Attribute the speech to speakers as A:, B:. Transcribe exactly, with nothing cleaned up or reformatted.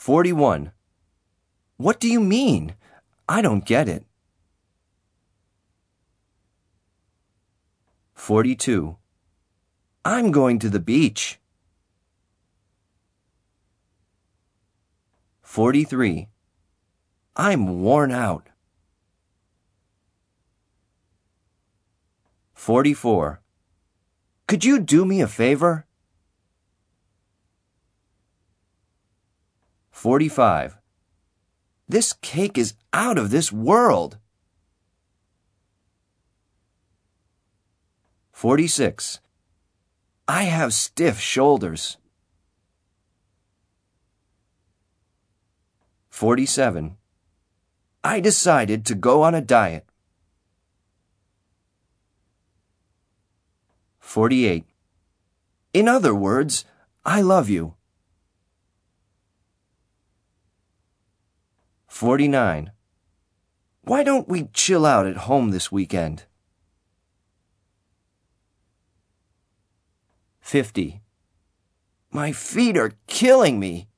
A: forty-one. What do you mean? I don't get it. forty-two. I'm going to the beach. forty-three. I'm worn out. forty-four. Could you do me a favor? forty-five. This cake is out of this world. forty-six. I have stiff shoulders. forty-seven. I decided to go on a diet. forty-eight. In other words, I love you. forty-nine. Why don't we chill out at home this weekend? fifty. My feet are killing me.